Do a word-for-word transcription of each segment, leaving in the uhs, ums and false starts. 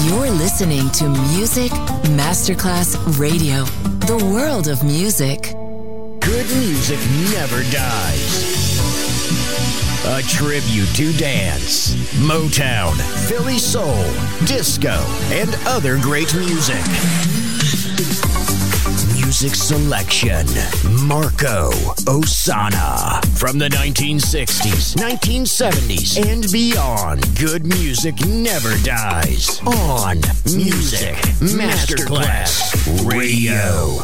You're listening to Music Masterclass Radio, the world of music. Good music never dies. A tribute to dance, Motown, Philly soul, disco, and other great music. Music selection, Marco Ossanna. From the nineteen sixties, nineteen seventies, and beyond, good music never dies. On Music Masterclass Radio.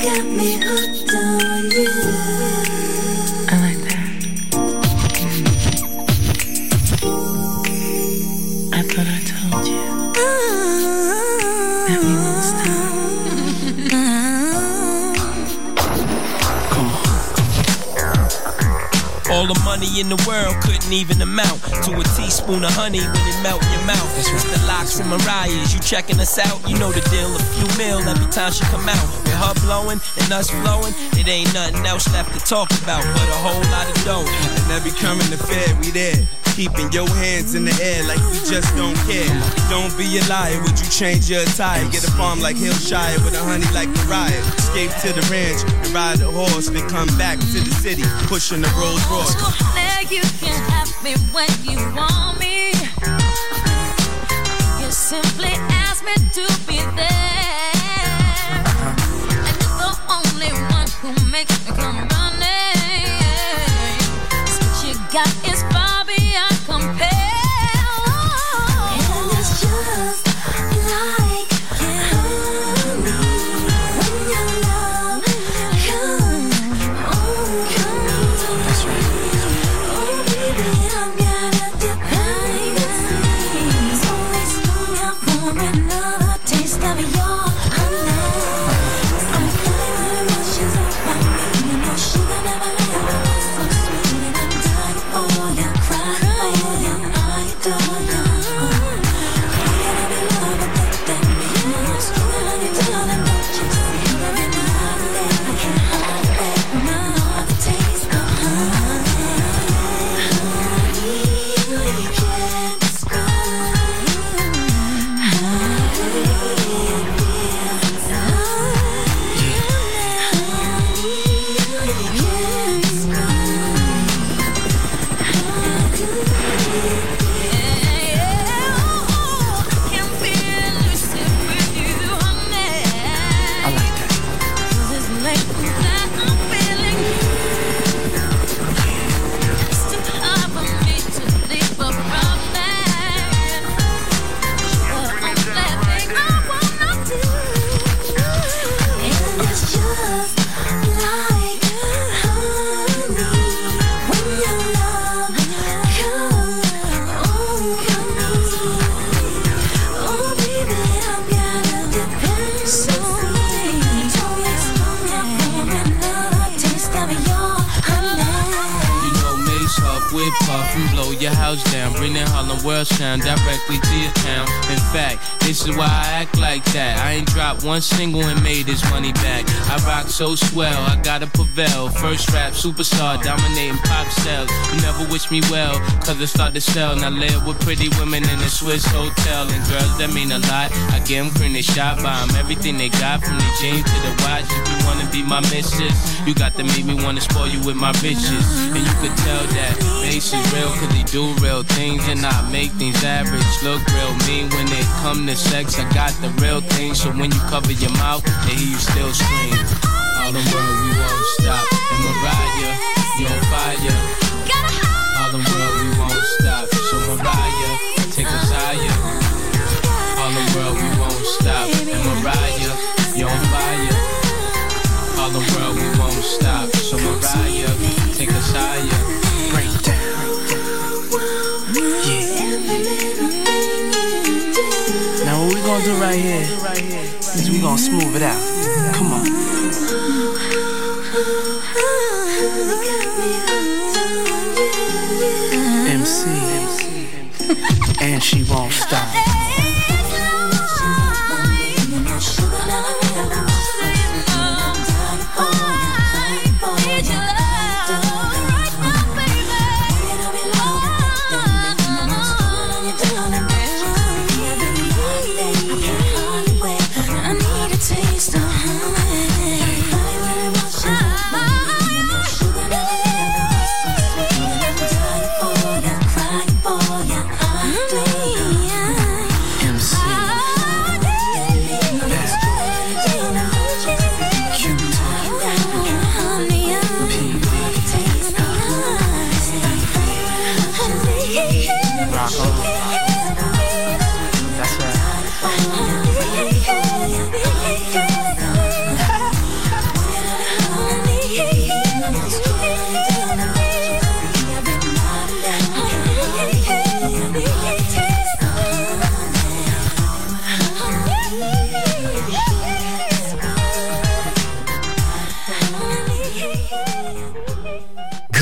got me hooked on you. I like that. I thought I told you that we won't stop. Come on. All the money in the world couldn't even amount to a teaspoon of honey when it melt in your mouth. That's right. The Locks and Mariah's, you checking us out? You know the deal, a few mil every time she come out. With her blowing and us flowing, it ain't nothing else left to talk about but a whole lot of dough. And every current affair, we there. Keeping your hands in the air like we just don't care. Don't be a liar, would you change your attire? Get a farm like Hillshire with a honey like Mariah. Escape to the ranch and ride a horse, then come back to the city, pushing the Rolls Royce. Now you can have me when you want me. You simply ask me to be there. And you're the only one who makes me come running. So what you got is far beyond compare. And it's just like honey when your love comes. Oh, come on. That's right. Oh, baby, I've got a dependency. So let's go out for another taste of your honey. I'm feeling emotions up by me. You know sugar never left. So sweet and I'm dying for you. Cry for you. I adore you. You're gonna be loved and think that me. Sweet honey, darling, don't you see? Every night and day I can't hide away from another taste of honey. Honey, you can't describe how good it feels inside. Honey, you can't describe how good it feels. Can feel lucid with you, honey. I like that. 'Cause it's late that I'm feeling you. It's too hard for me to leave a promise. But I'm letting I wanna do. And it's just like honey when your love comes. Oh, come easy. Oh, baby, I've got a dependency. Don't let's go out for another taste of your honey. You know Mace Huff, whip puff and blow your house down. Bring that Harlem World sound directly to your town. In fact, this is why I act like that. I ain't dropped one single and made this money back. I rock so swell, I gotta prevail. First rap superstar, dominating pop sales. You never wish me well, cause it start to sell. Now live with pretty women in a Swiss hotel. And girls that mean a lot, I get them cream, they shot by them. Everything they got from the jeans to the watch. If you wanna be my missus, you got to make me wanna spoil you with my bitches. And you could tell that Mace is real, cause he do real things and I make things average look real mean. When it come to sex, I got the real thing. So when you cover your mouth, they hear you still scream. All the world, we won't stop. And Mariah, you on fire. All the world, we won't stop. So Mariah, take us higher. All the world, we won't stop. And Mariah, you on fire. All the world, we won't stop. So Mariah, take us higher. Break down. Yeah. Now what we gonna do right here is we gonna smooth it out. Come on. M C. And she won't stop.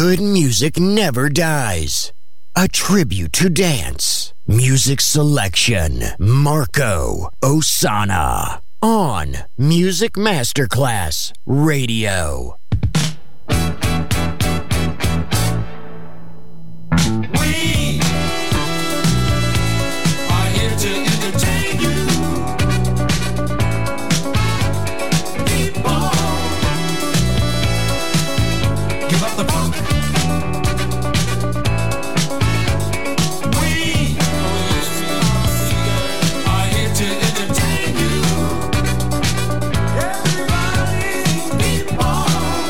Good music never dies. A tribute to dance. Music selection. Marco Ossanna. On Music Masterclass Radio. We are here to entertain you. People, give up the funk. We are here to entertain you. Everybody, people.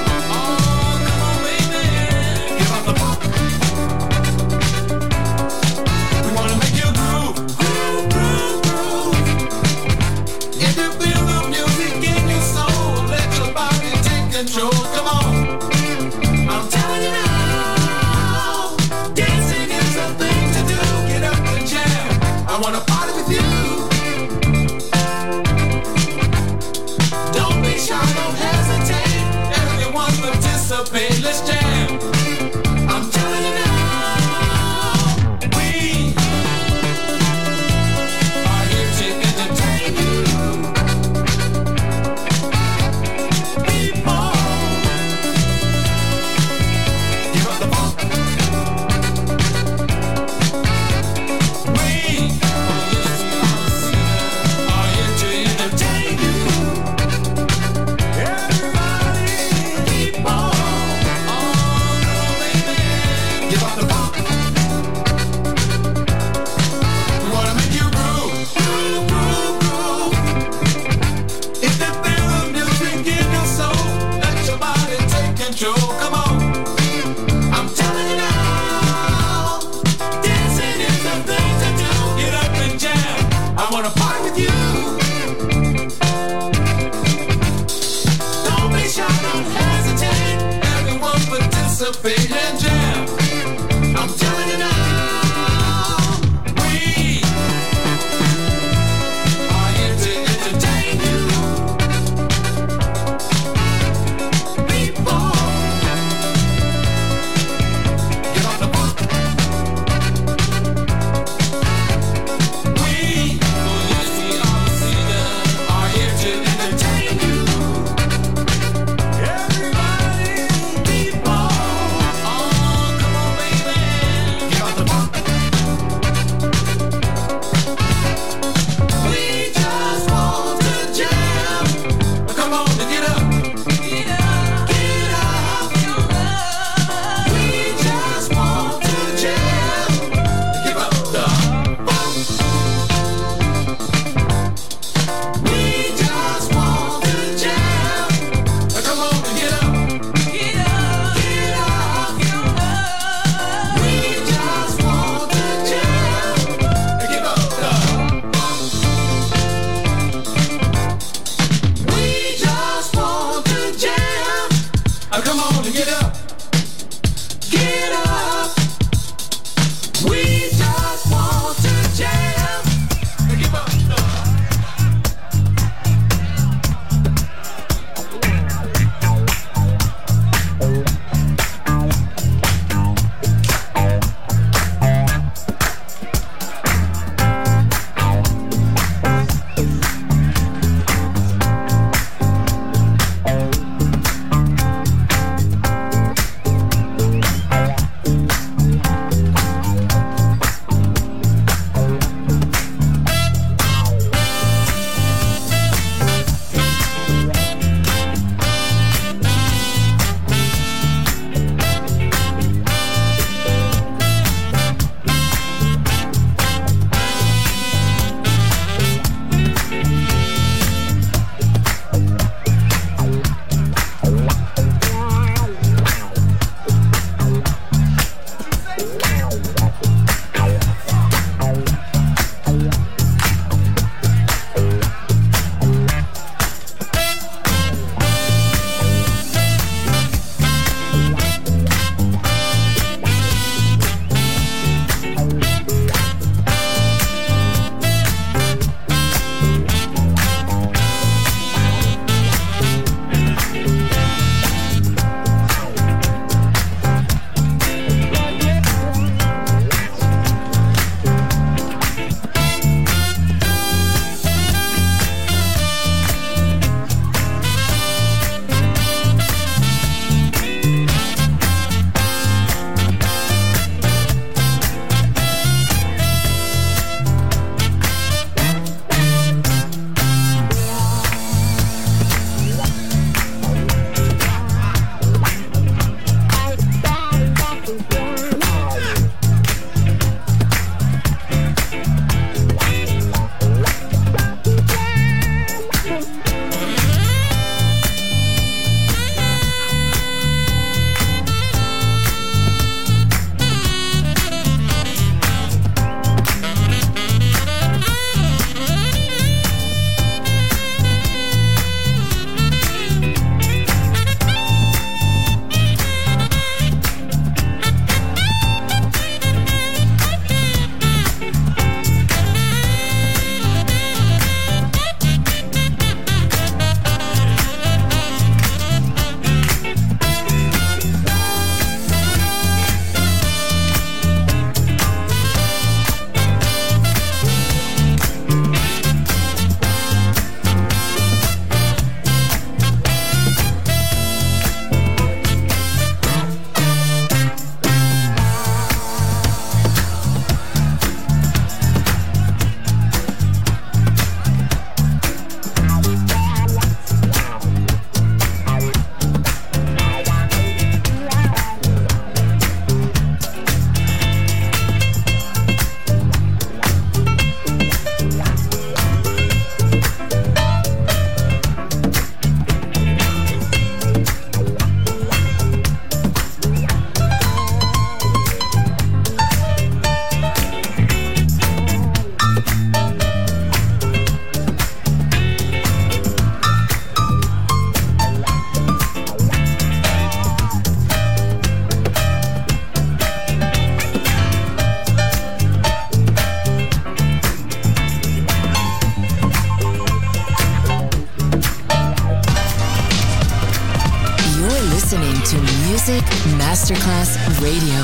Music Masterclass Radio.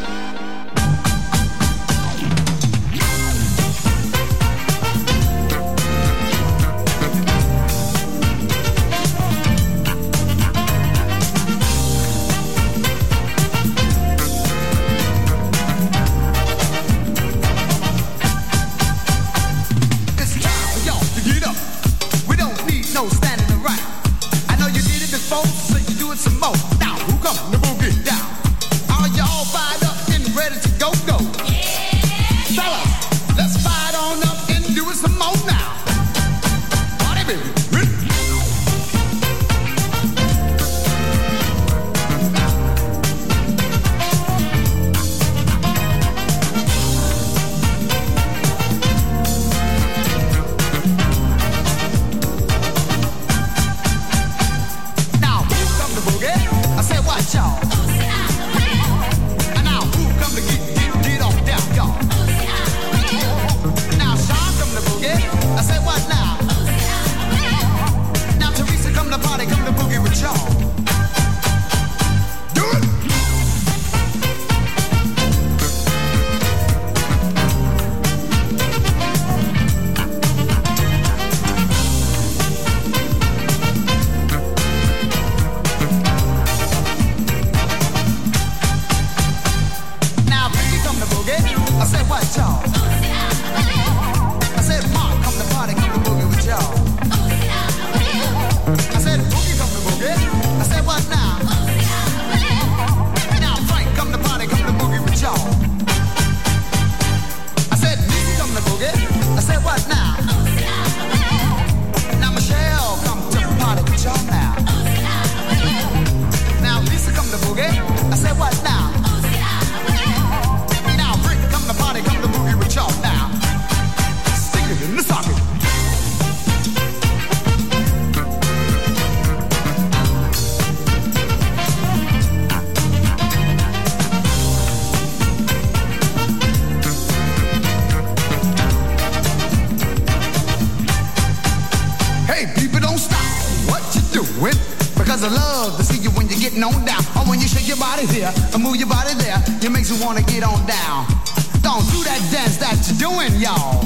Wanna get on down. Don't do that dance that you're doing, y'all.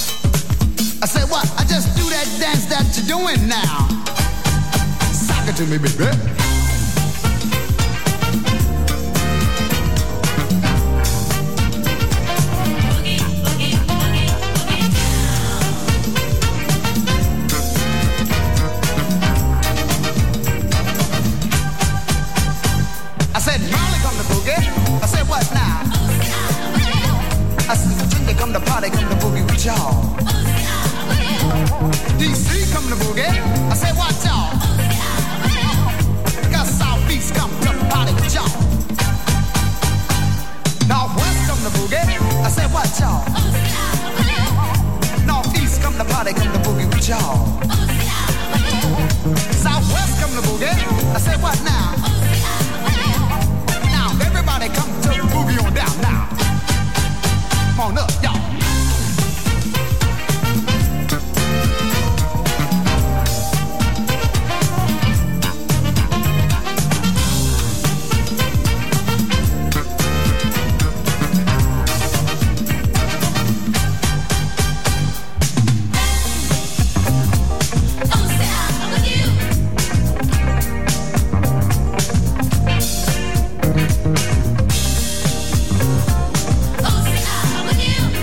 I said what? I just do that dance that you're doing now. Sock it to me, baby. D C come to boogie. I said, watch y'all. Got Southeast come to party with y'all. Northwest come to boogie. I said, watch y'all. Northeast come to party, come to boogie with y'all. Southwest come to boogie. I said, what now? Now everybody come to boogie on down now. Come on up, y'all. Oh,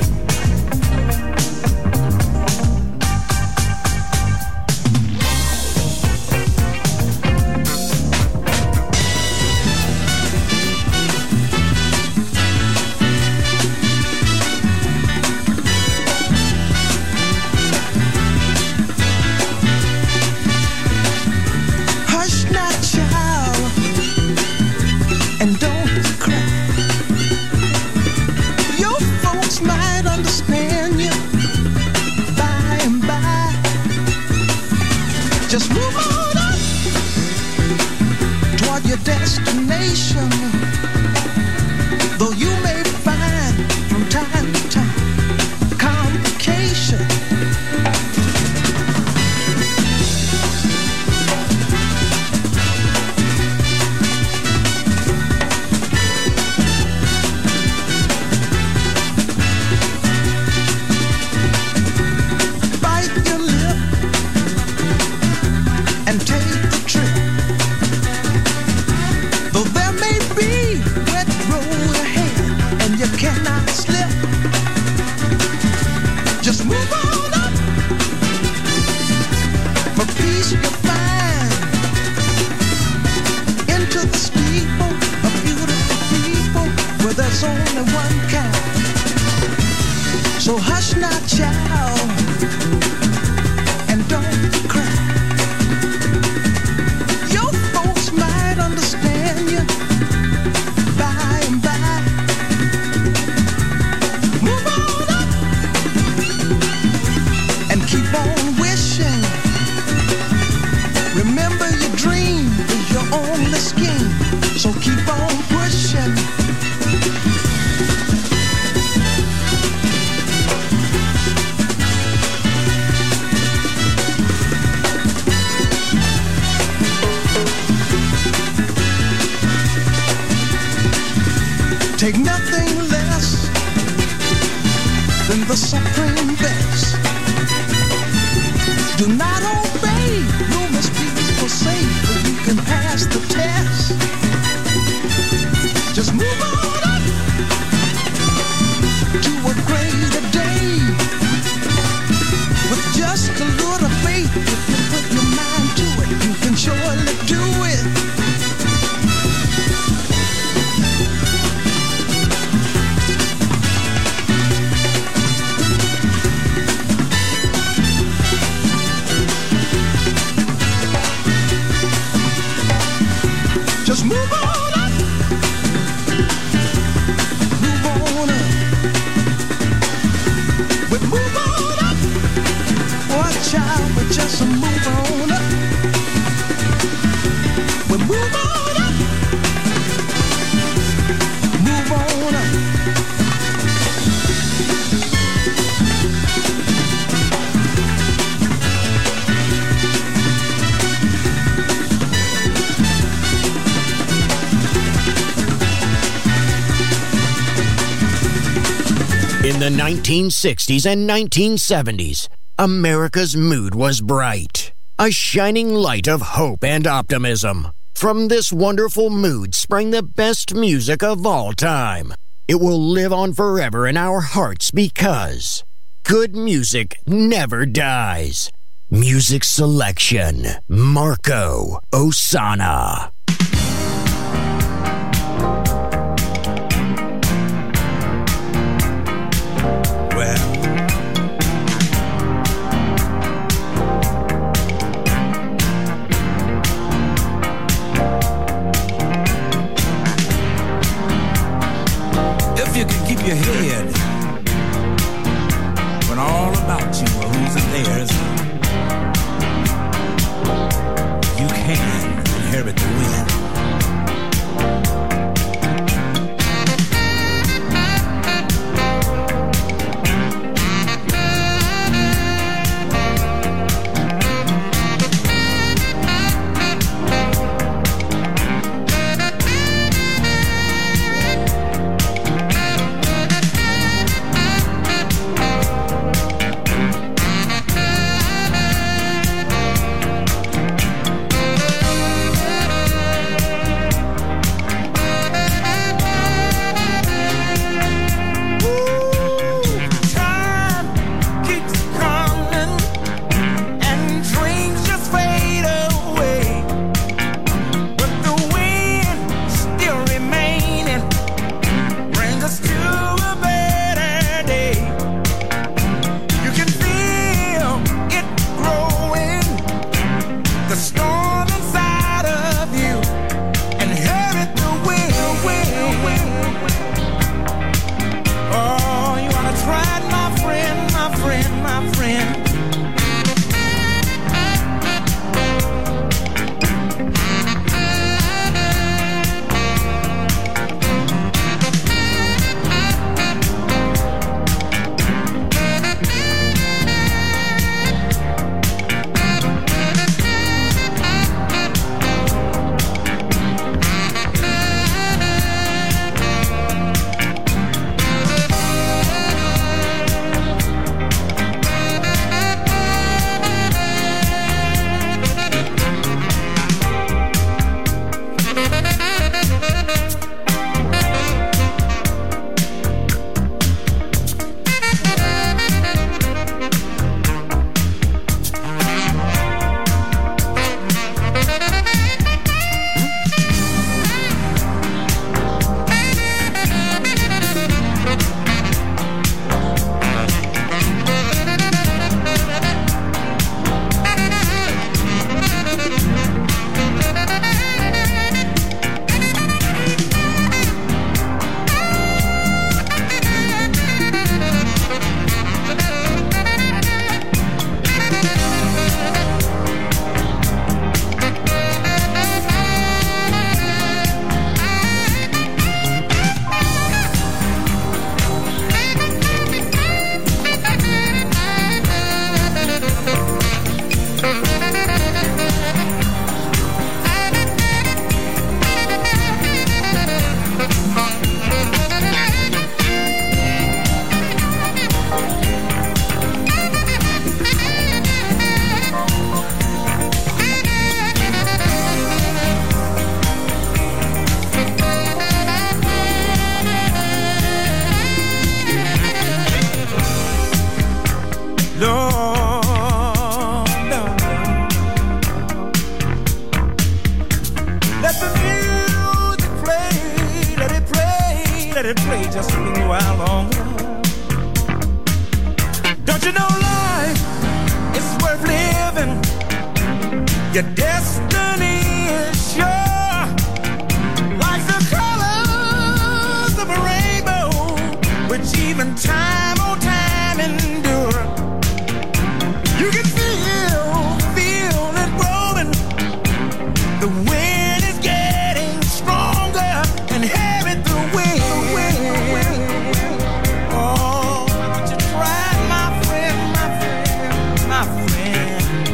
slip. Just move on up. For peace you find into the steeple of beautiful people where there's only one kind. So hush now, child, and don't cry. Your folks might understand you by and by. Move on up and keep on wishing. Remember your dream is your only scheme, so keep on pushing. Take nothing less than the supreme best. Do not obey rumors people say, but you can pass the test. Just move on up to a greater day. With just a little faith, if you put your mind to it, you can surely do it. Just move on up. Move on up. We move on up. Watch out, we just move on up. We move on up. Move on up. In the nineteen sixties and nineteen seventies, America's mood was bright, a shining light of hope and optimism. From this wonderful mood sprang the best music of all time. It will live on forever in our hearts because good music never dies. Music selection, Marco Ossanna. You can keep your head when all about you are losing theirs. You can inherit the wind. Your destiny is sure, like the colors of a rainbow, which even time or time endure. You can feel, feel it rolling. The wind is getting stronger and heavy the wind. Oh, won't you try, my friend, my friend, my friend.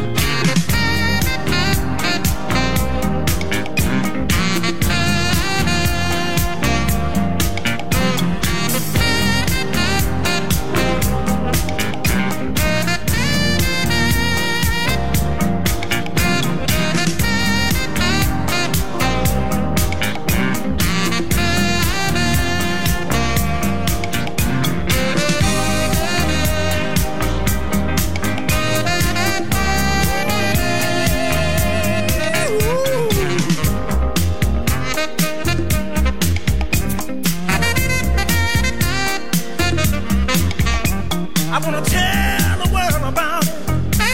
I wanna tell the world about it.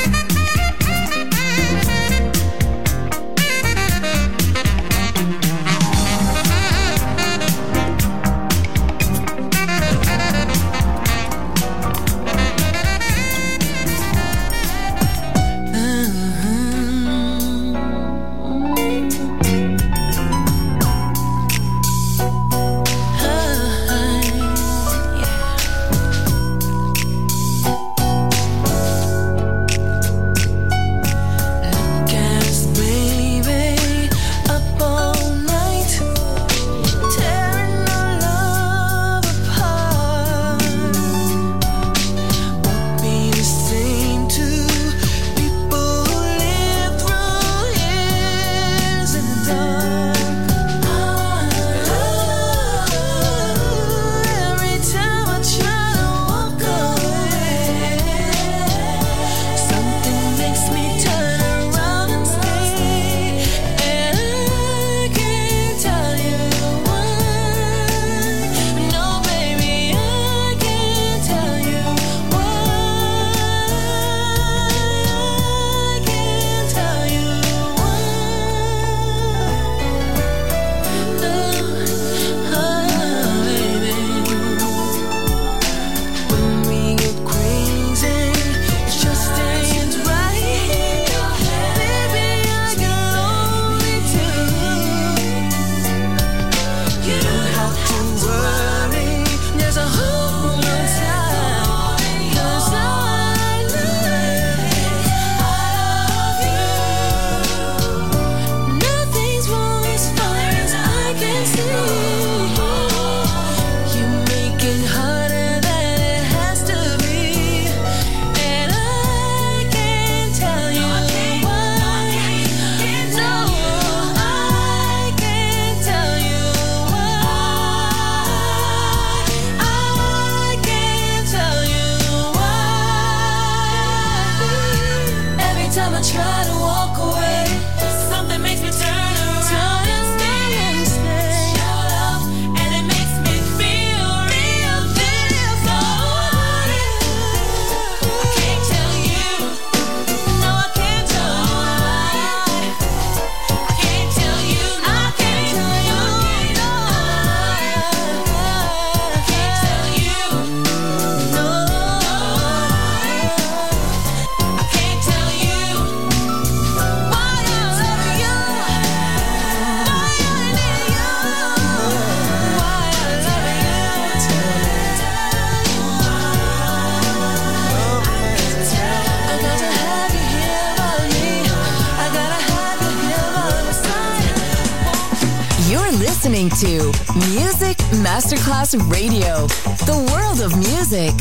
listening to Music Masterclass Radio, the world of music.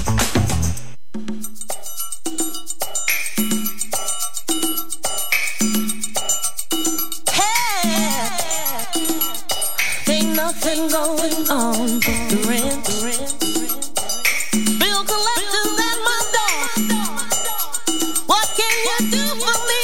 Hey, ain't nothing going on but the rent. Bill collectors at my door. What can you do for me?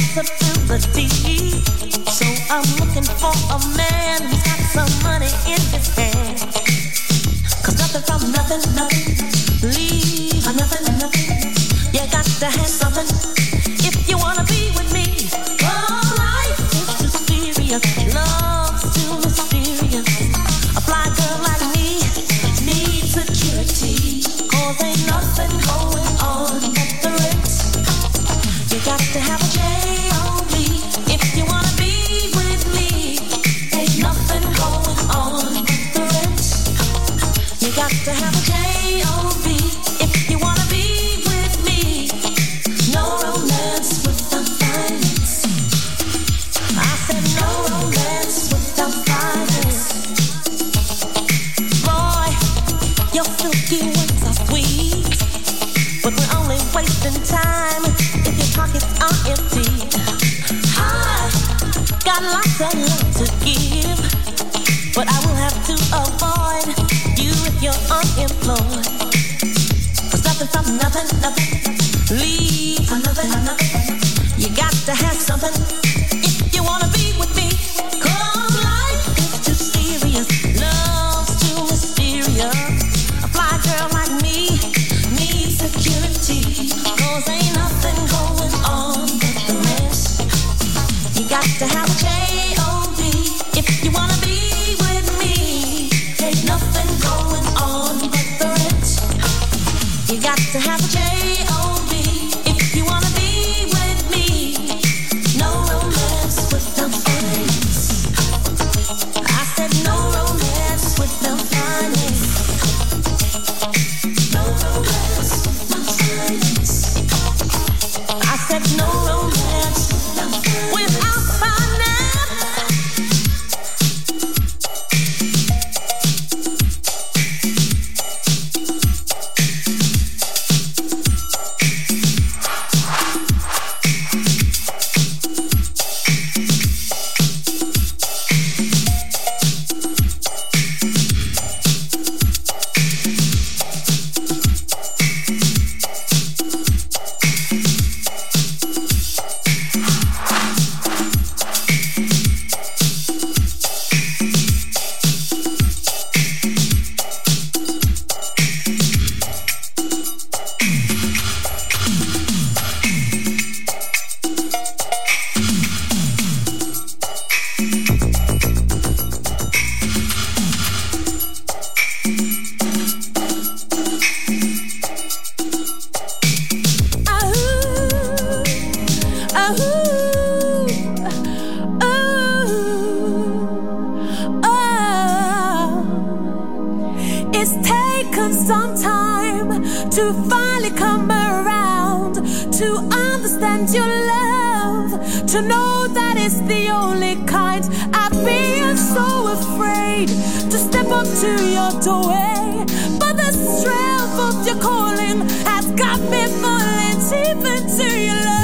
responsibility. So I'm looking for a man who's got some money in his hand. Cause nothing from nothing, nothing, leave a nothing, nothing. You got to have something if you wanna be with me. Oh, life is too serious, love's too mysterious. A fly girl like me needs security. Cause ain't nothing going on but the rent. You got to have a J O B if you wanna be with me. Ain't nothing going on but the rent. You got to have a J O B if you wanna be with me. No romance without finance. I said no romance without finance. Boy, your silky wings are sweet, but we're only wasting time if your pockets are empty. I got lots of love to give, but I will have to avoid you if you're unemployed. Cause nothing from nothing, nothing, leave for nothing, nothing. You got to have something if you wanna be with me. Cause life is too serious, love's too mysterious. A fly girl like me needs security. Cause ain't nothing going on but the mess. You got to have a J O B if you wanna be with me. Ain't nothing going on but the rent. You got to have a J O B if you wanna be with me. No romance without finance. I said no romance without finance. No romance without finance. I said no romance without finance. It's taken some time to finally come around, to understand your love, to know that it's the only kind. I've been so afraid to step up to your doorway, but the strength of your calling has got me falling deep into your love.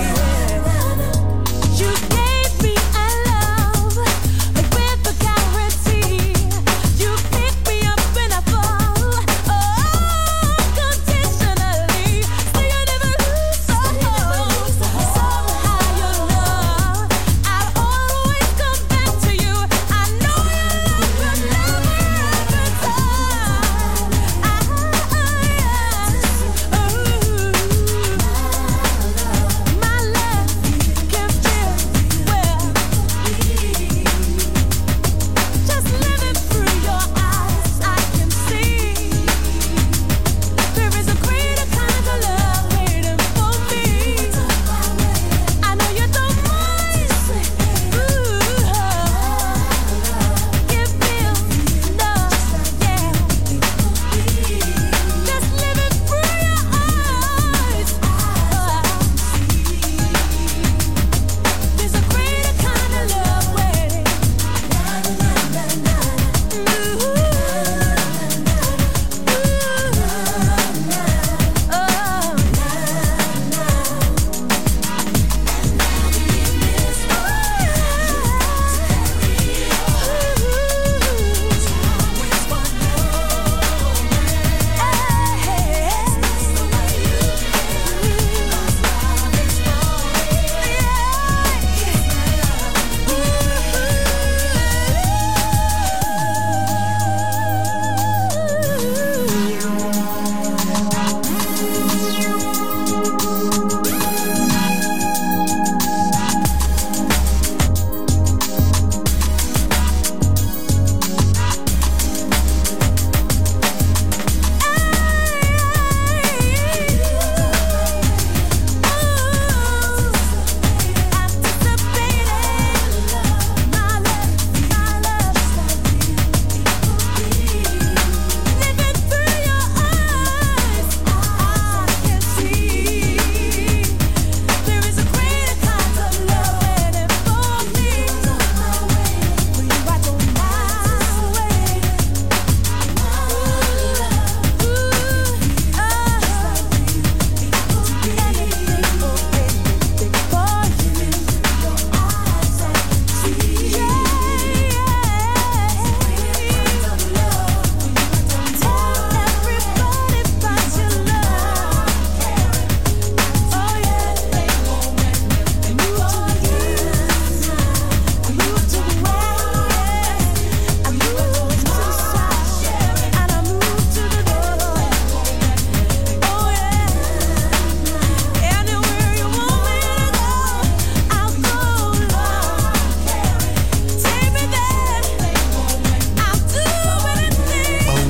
You gave me a love with the guarantee.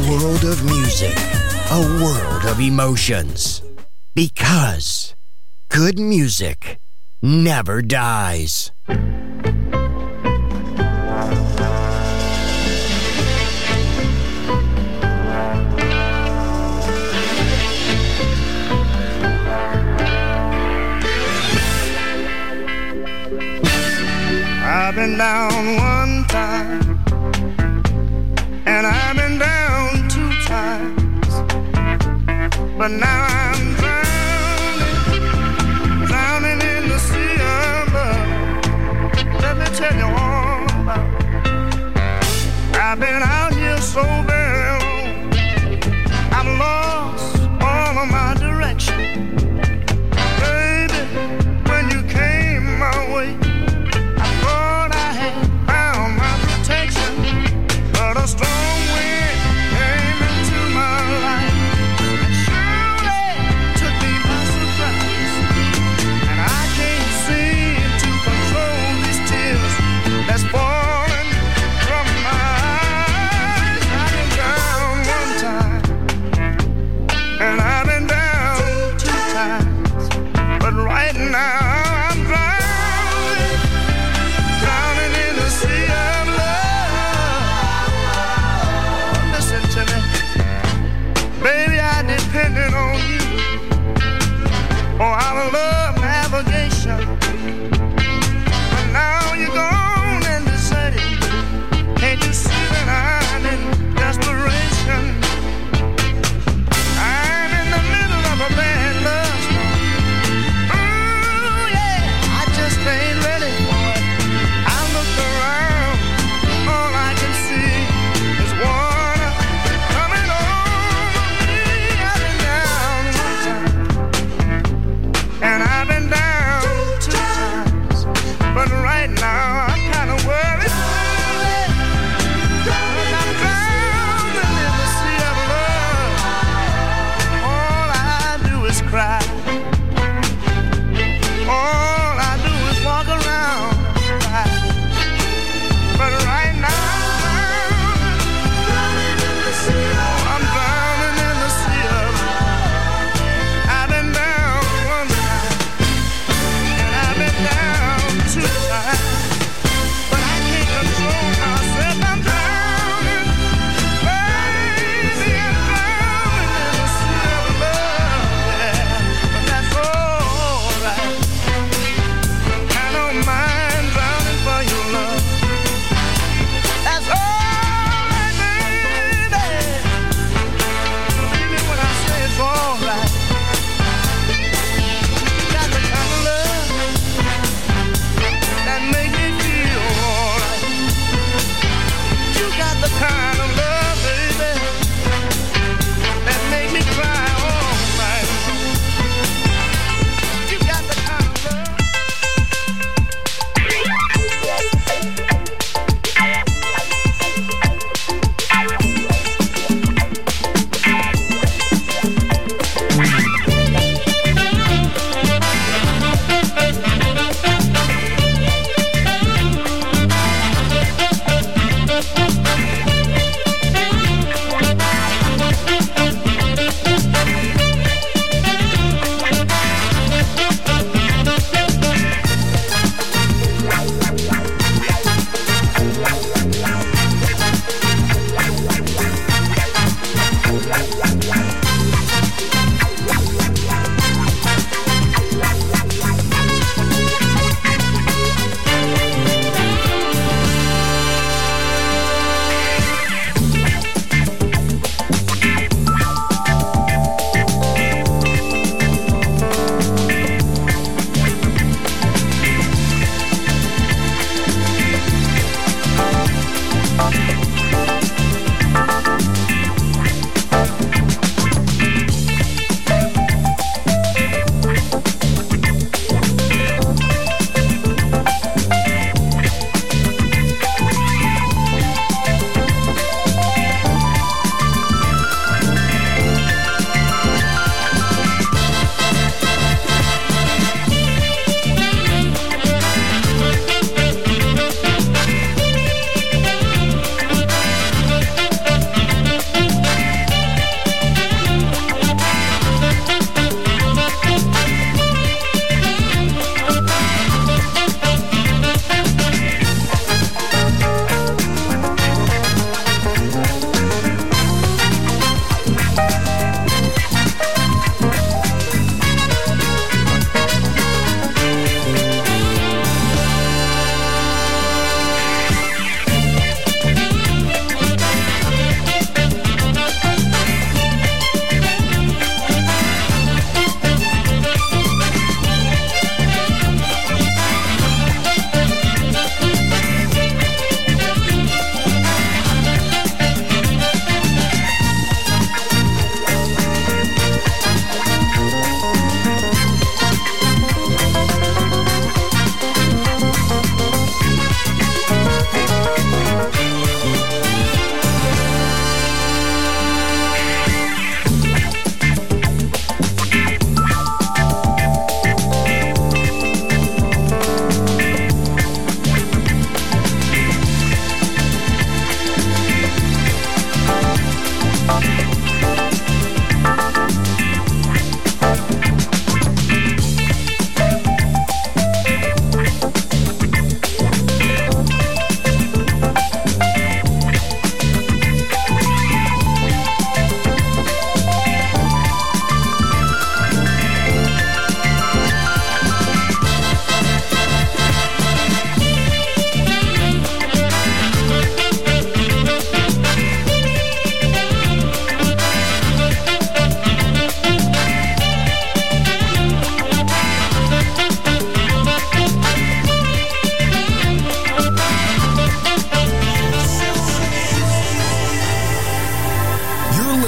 world of music, a world of emotions. Because good music never dies. I've been down one time, and I've been down two times, but now I'm drowning, drowning in the sea of love. Let me tell you all about it. I've been out here so very long, I've lost all of my direction. Baby, when you came my way, but a strong wind came into my life and surely took me by surprise. And I can't seem to control these tears that's falling from my eyes. I can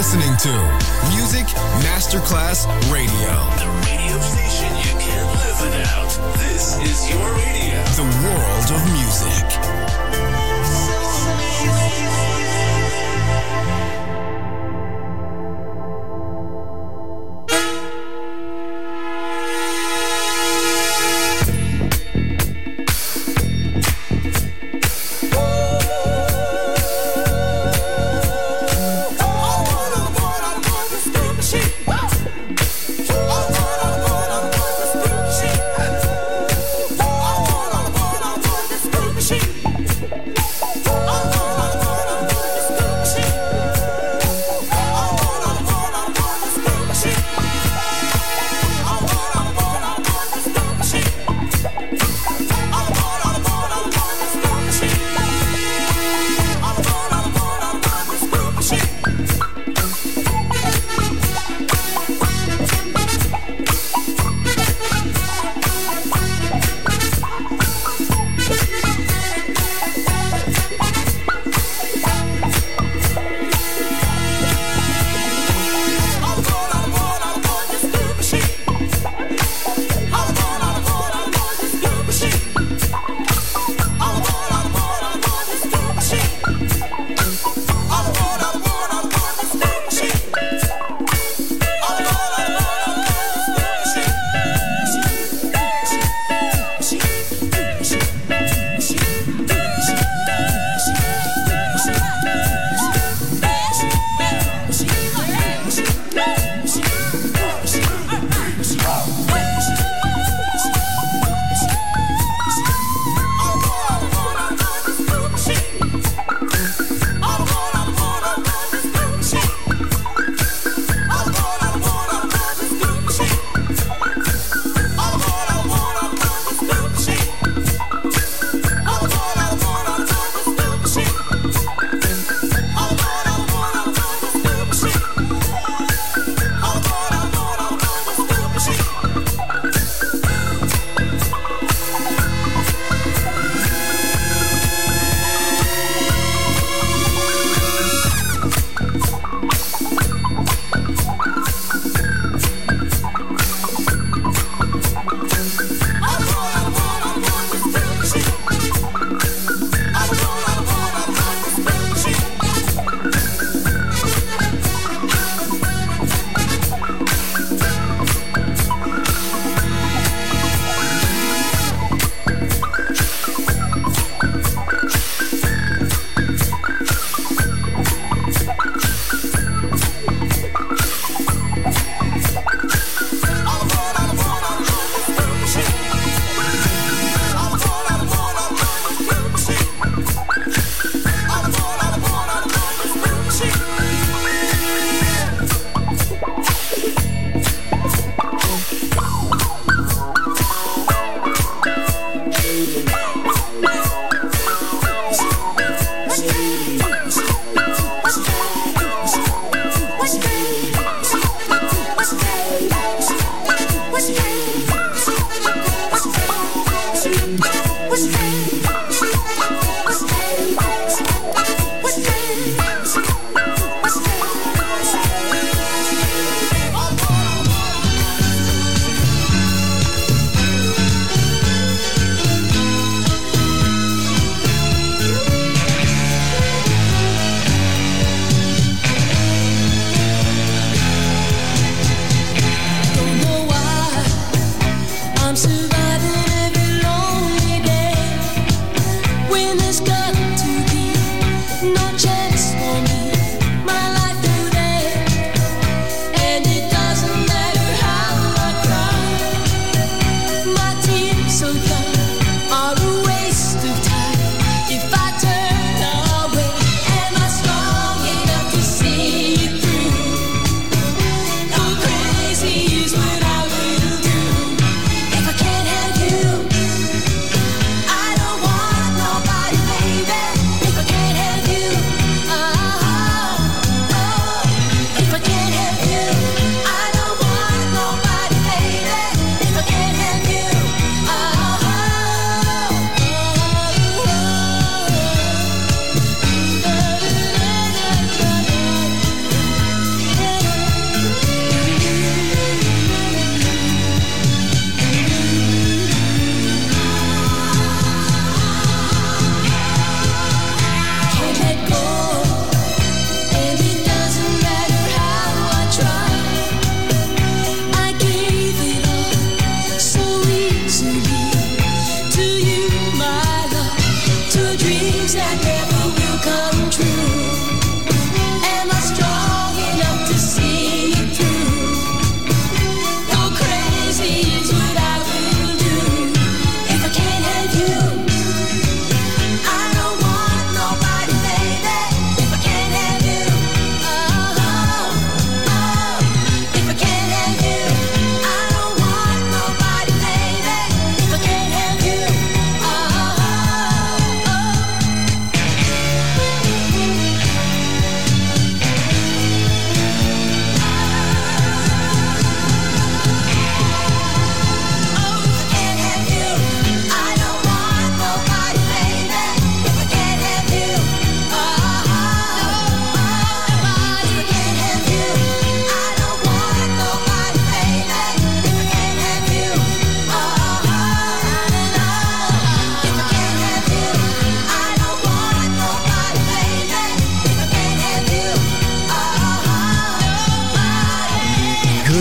listening to Music Masterclass Radio. The radio station you can't live without. This is your radio. The world of music.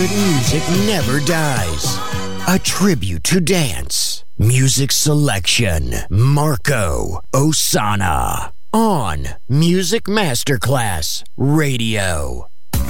good music never dies. A tribute to dance. Music selection, Marco Ossanna. On Music Masterclass Radio.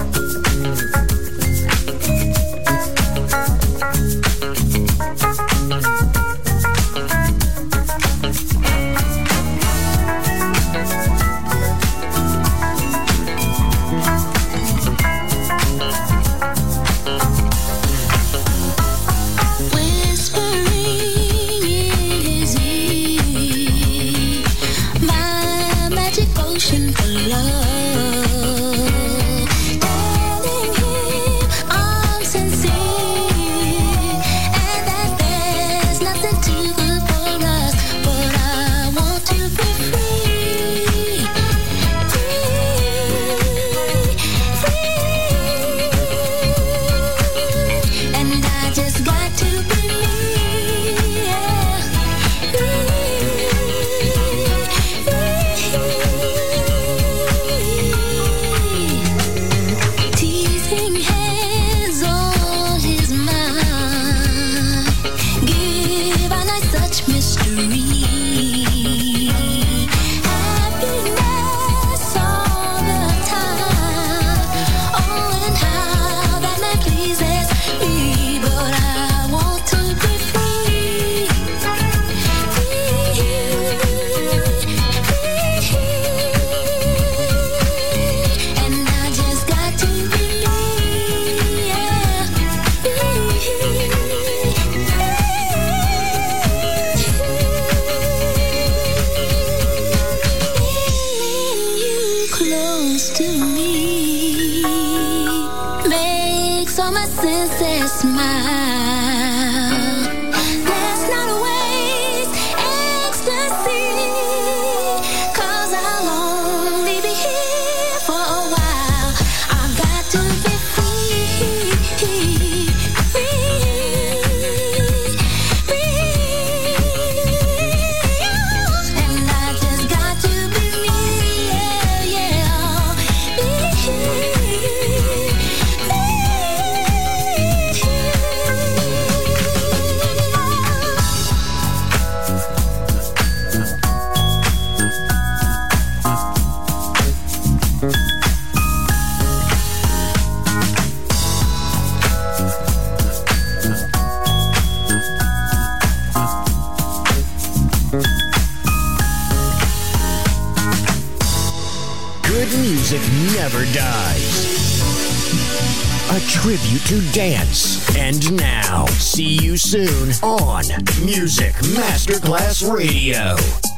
Never dies. A tribute to dance. And now, see you soon on Music Masterclass Radio.